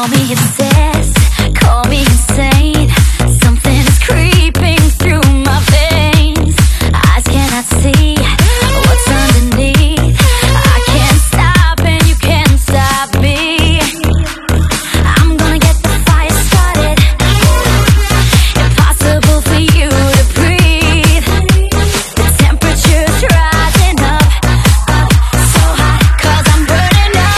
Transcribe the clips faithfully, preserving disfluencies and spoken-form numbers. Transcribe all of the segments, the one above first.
Call me obsessed, call me insane. Something is creeping through my veins. Eyes cannot see what's underneath. I can't stop and you can't stop me. I'm gonna get the fire started. Impossible for you to breathe. The temperature's rising up, up so hot, 'cause I'm burning up.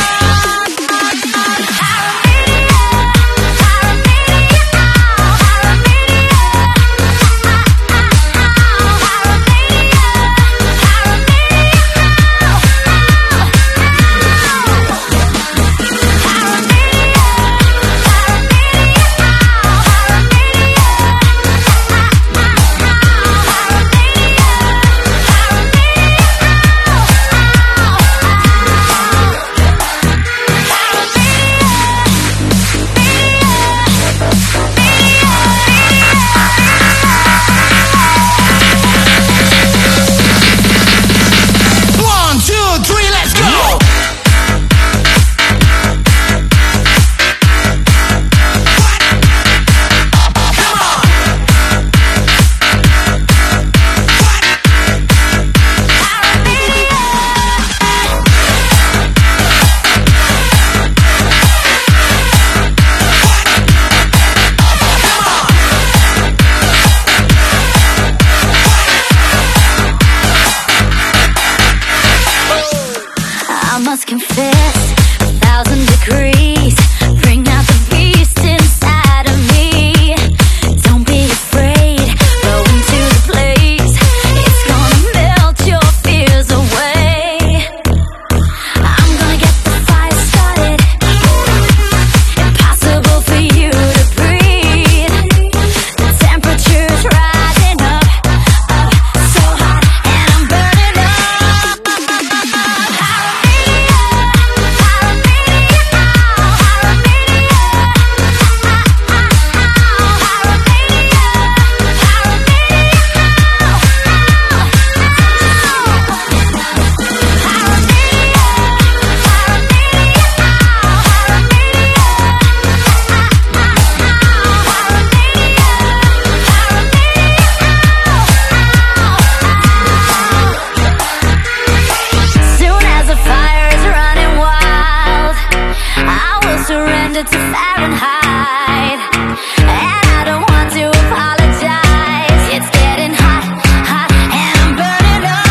I must confess, a thousand degrees bring out the beast inside of me. Don't be afraid, go into the blaze. It's gonna melt your fears away. I'm gonna get the fire started. Impossible for you to breathe. The temperature's rising up, up so hot, and I'm burning up. To Fahrenheit, and I don't want to apologize. It's getting hot, hot, and I'm burning up.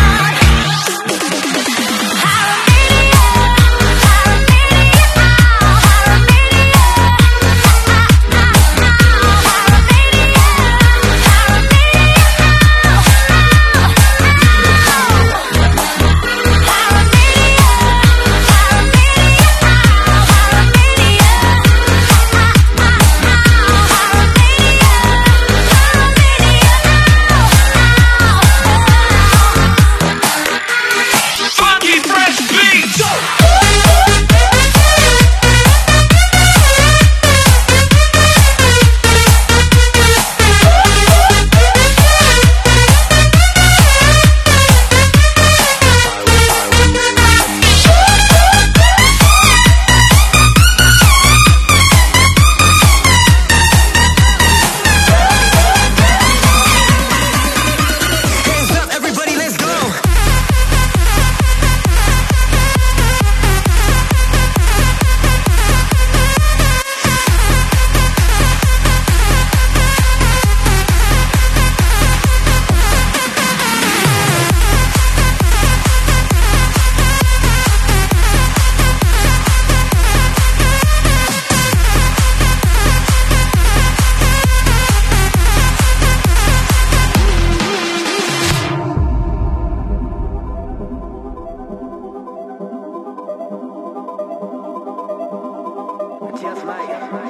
Just like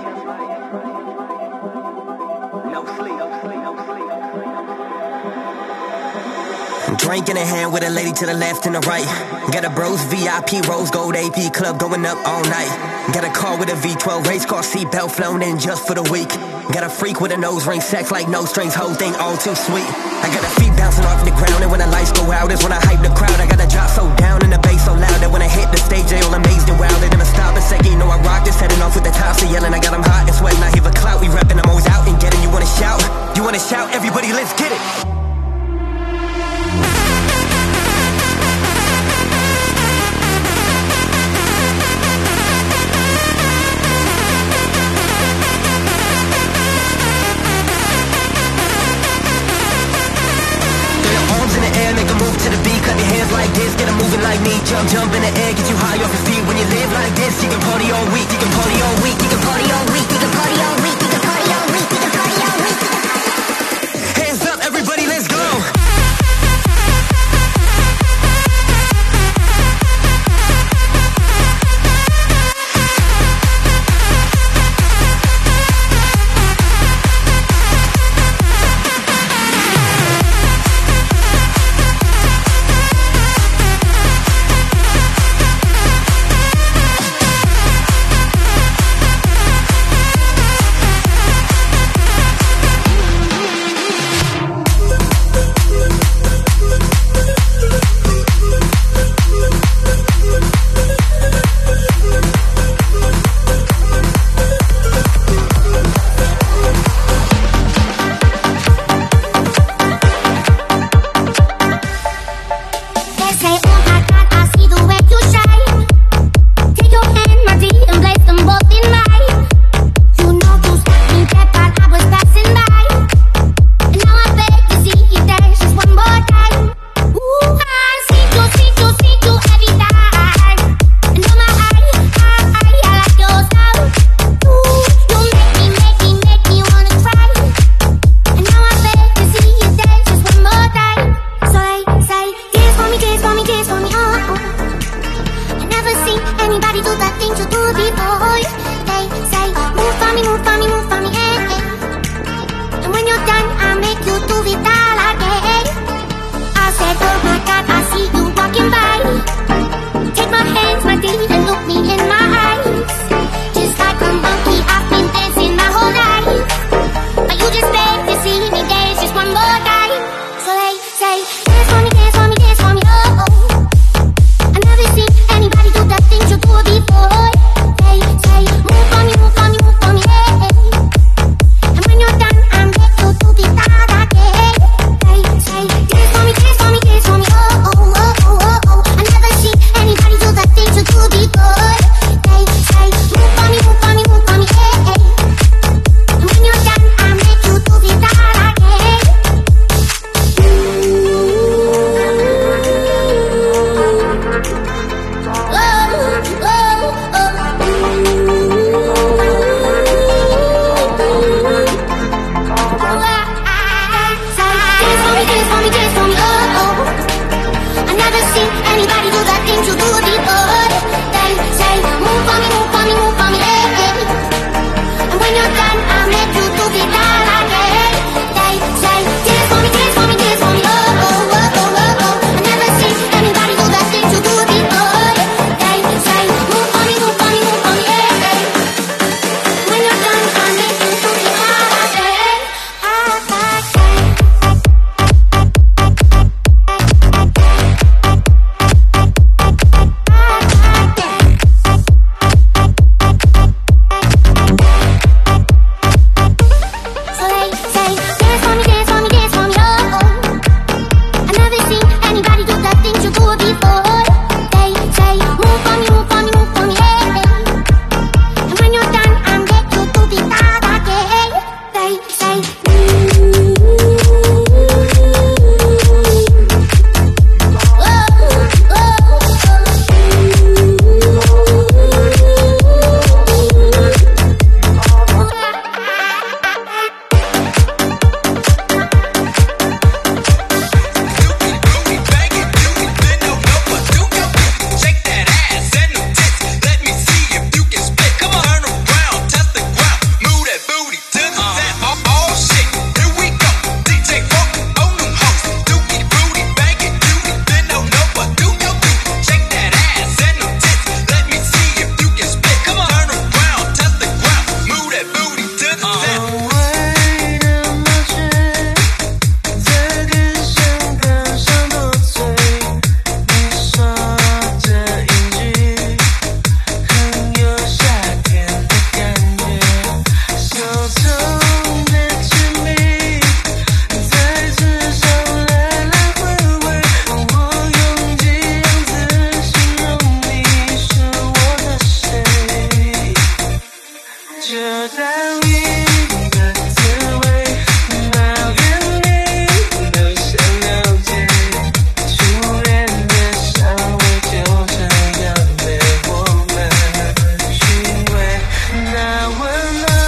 no sleep, no sleep, no sleep. Drink in a hand with a lady to the left and the right. Got a bros V I P rose gold A P club going up all night. Got a car with a V twelve race car seatbelt flown in just for the week. Got a freak with a nose ring, sex like no strings, whole thing all too sweet. I got a feet bouncing off the ground, and when the lights go out is when I hype the crowd. I got a drop so down and the bass so loud that when I hit the stage they all amazed and wowed. They never stop a second, you know I rock this, heading off mouth with the tops, they yelling, I got them hot and sweating, I hear the clout. We rapping, I'm always out and getting, you wanna shout? You wanna shout? Everybody, let's get it! Make a move to the beat, clap your hands like this, get them moving like me. Jump, jump in the air, get you high off your feet. When you live like this, you can party all week, you can party all week, you can party all week, you can party all week, you can party all week, you can party all week, you can party all week. Hands up, everybody, let's go! 知道你的滋味，抱怨你都想了解，初恋的香味就这样被我们寻味，那温暖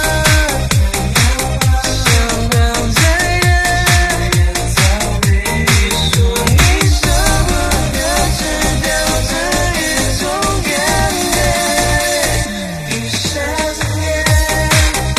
像浪在人你说你舍不得吃掉这一种眼泪，一闪念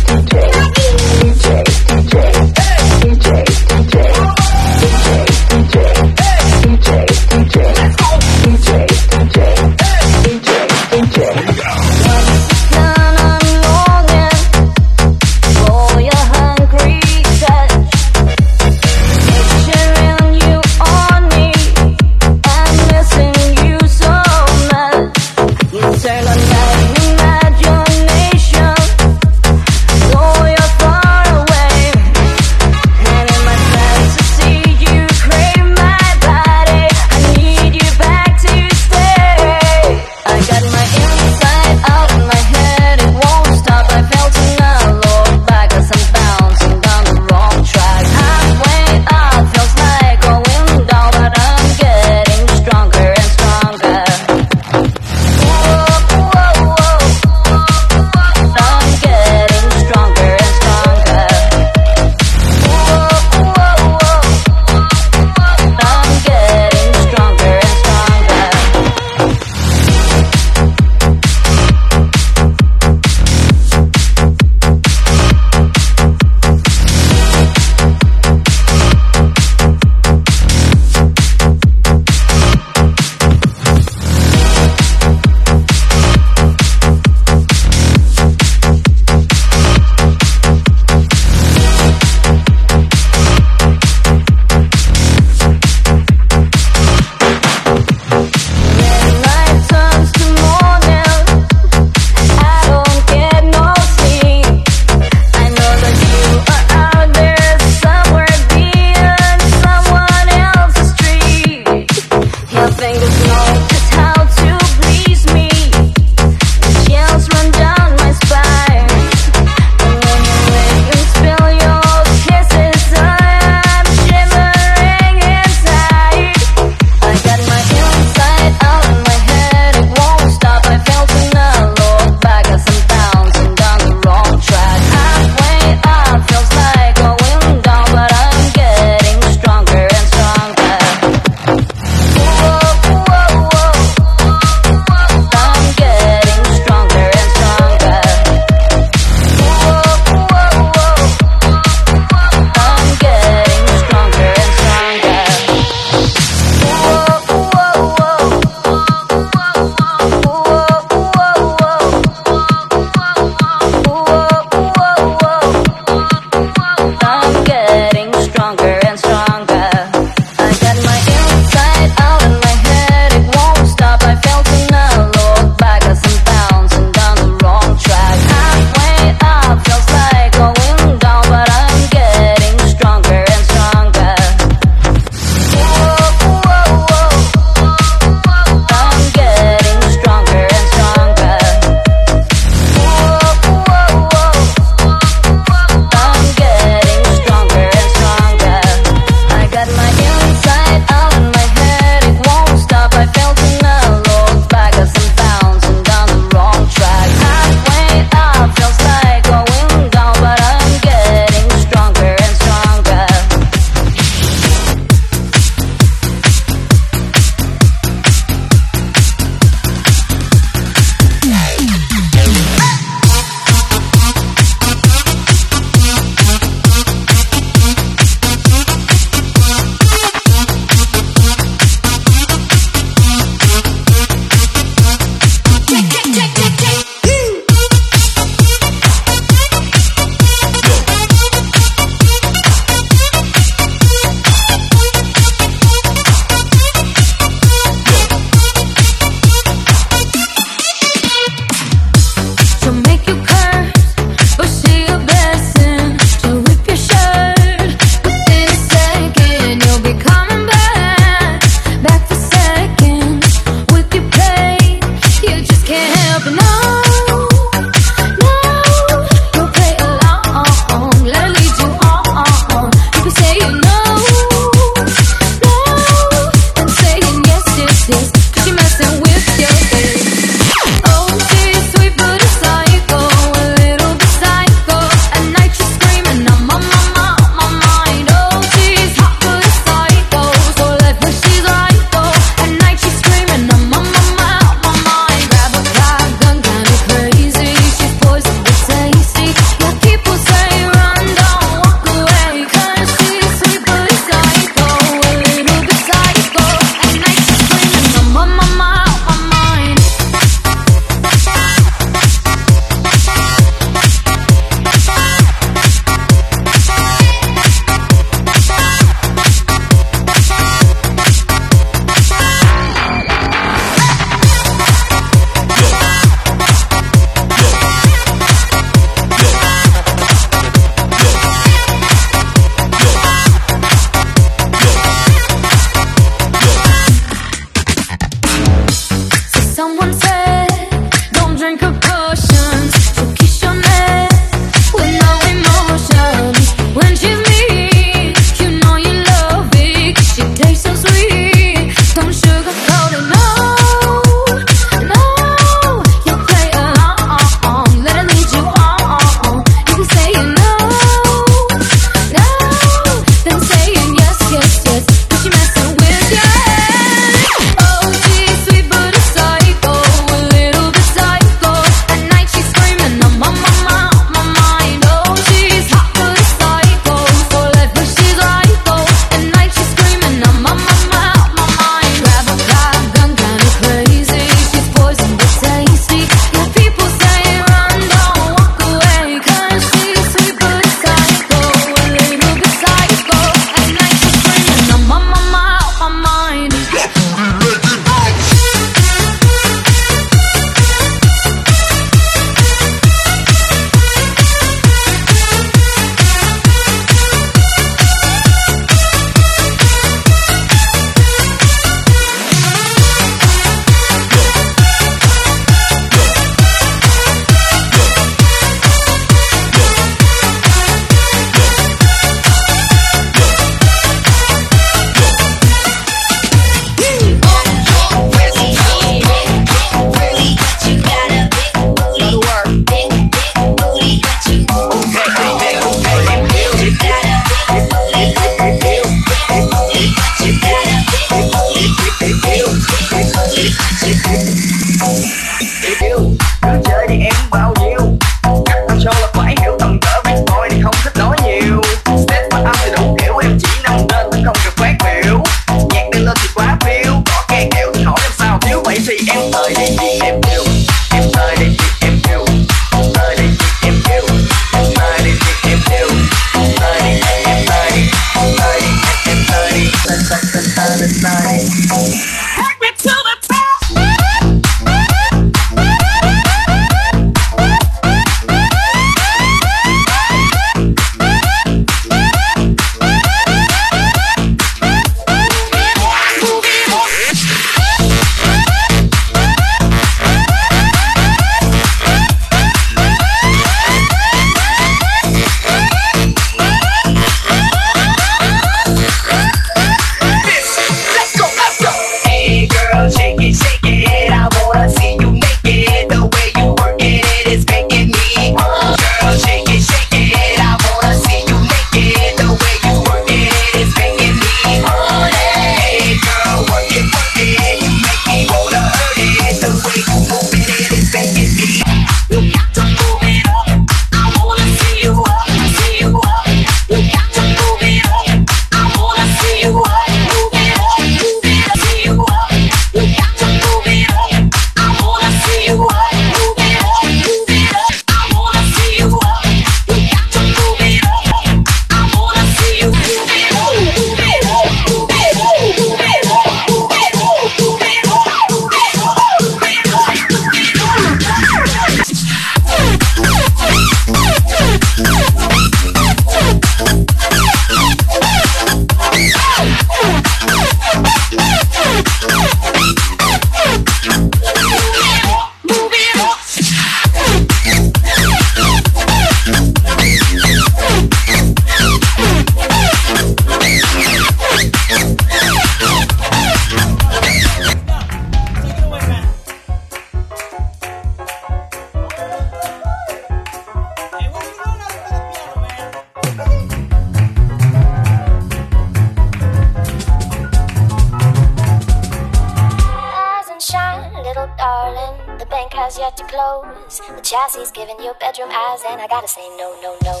clothes. The chassis giving you bedroom eyes, and I gotta say no, no, no.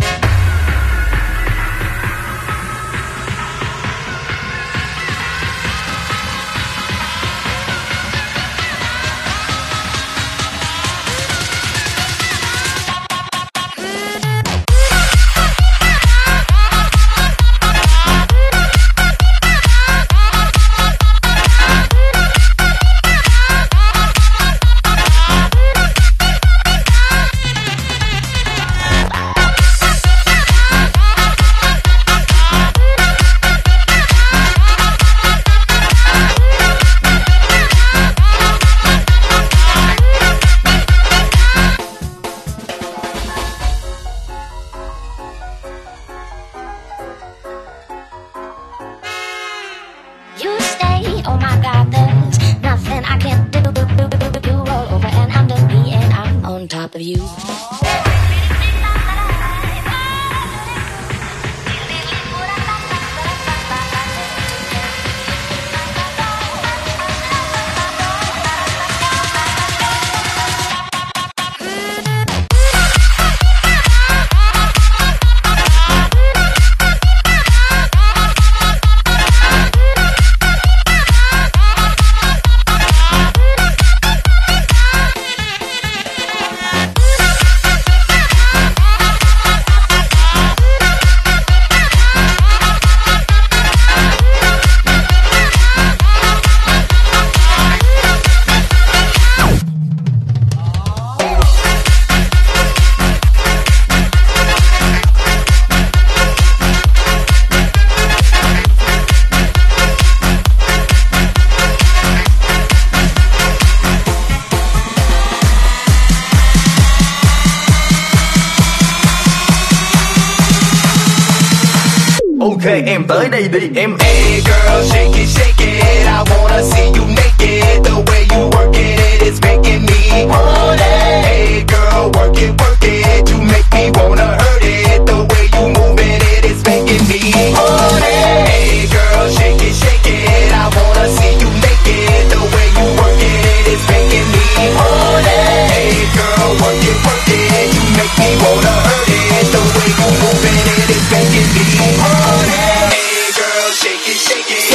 Top of you. Ok em tới đây đi em. Hey girl, shake it, shake it. I wanna see you naked. The way you work it, it's making me want it. Hey girl, work it, work it. You make me wanna hurt it. The way you moving it, it's making me want it. Hey girl, shake it, shake it. I wanna see you naked. The way you work it, it's making me want it. Hey girl, work it, work it. You make me wanna hurt it. The way you moving it, it's making me want it. Hey girl, shake it, shake it.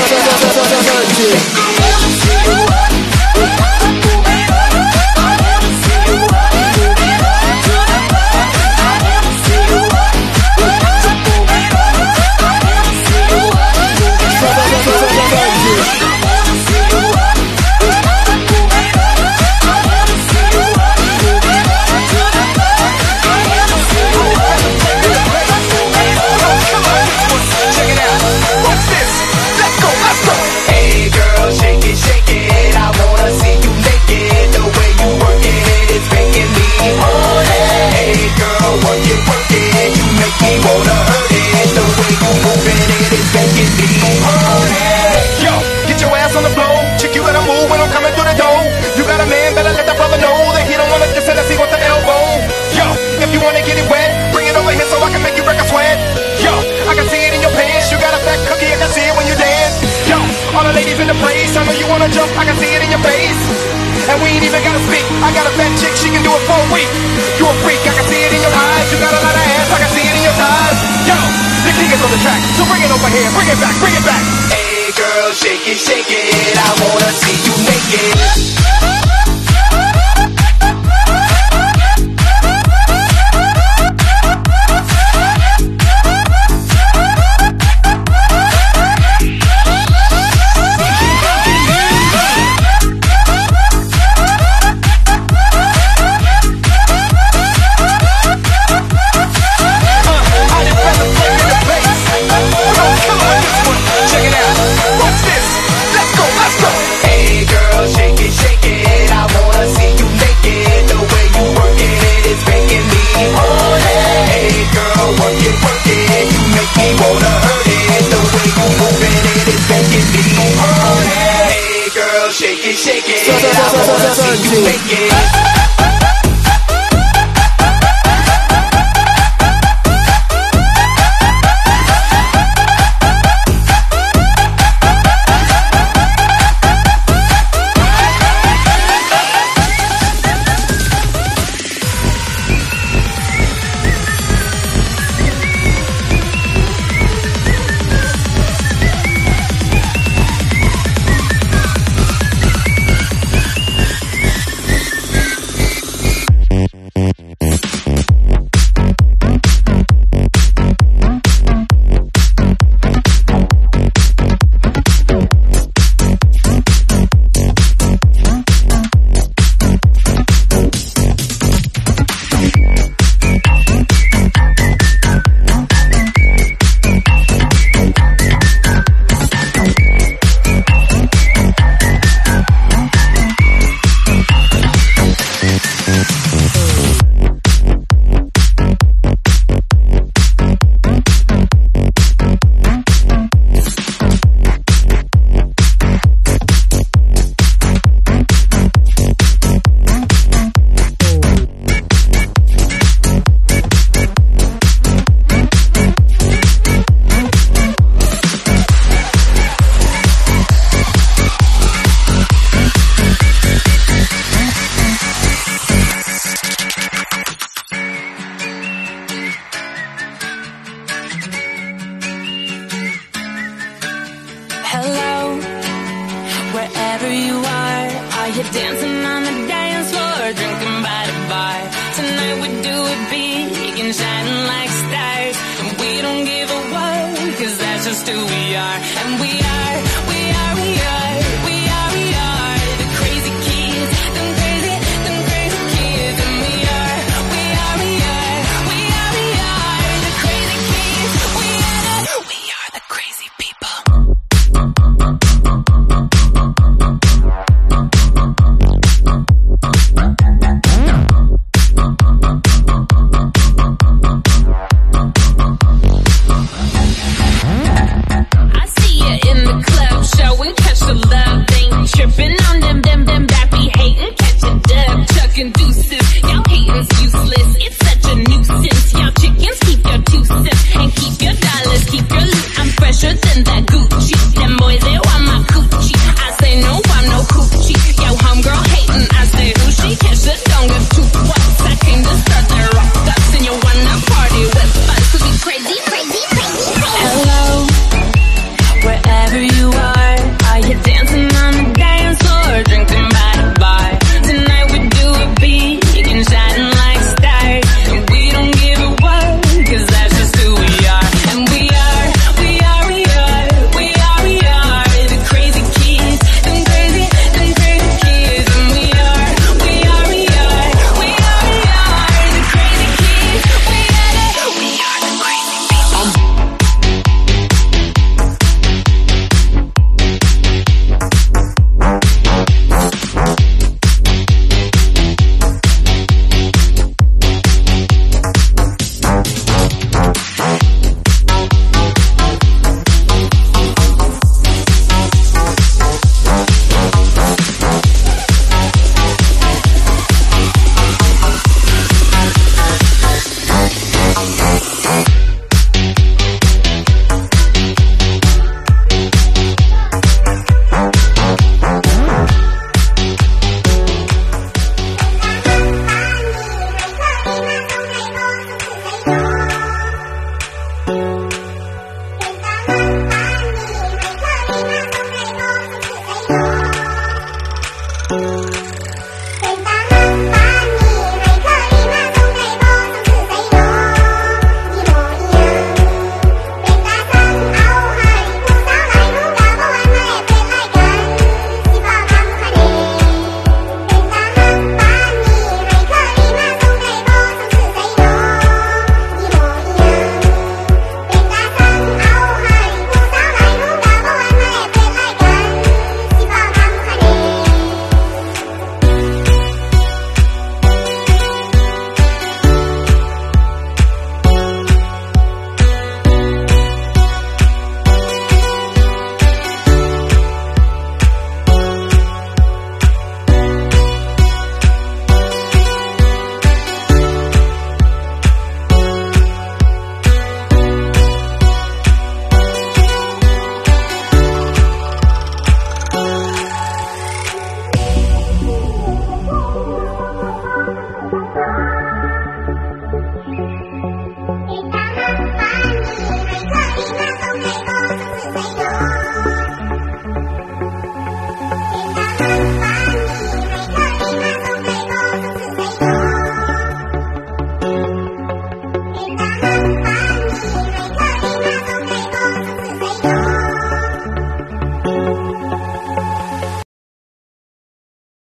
Jump, I can see it in your face. And we ain't even gotta speak. I got a fat chick, she can do it for a week. You a freak, I can see it in your eyes. You got a lot of ass, I can see it in your thighs. Yo, the king is on the track, so bring it over here, bring it back, bring it back. Hey girl, shake it, shake it. I wanna see you naked. Shake it, shake it. I wanna see you make it. We're dancing on the dance floor, drinking by the bar. Tonight we do it big and shining like stars. And we don't give a what, cause that's just who we are. And we are, we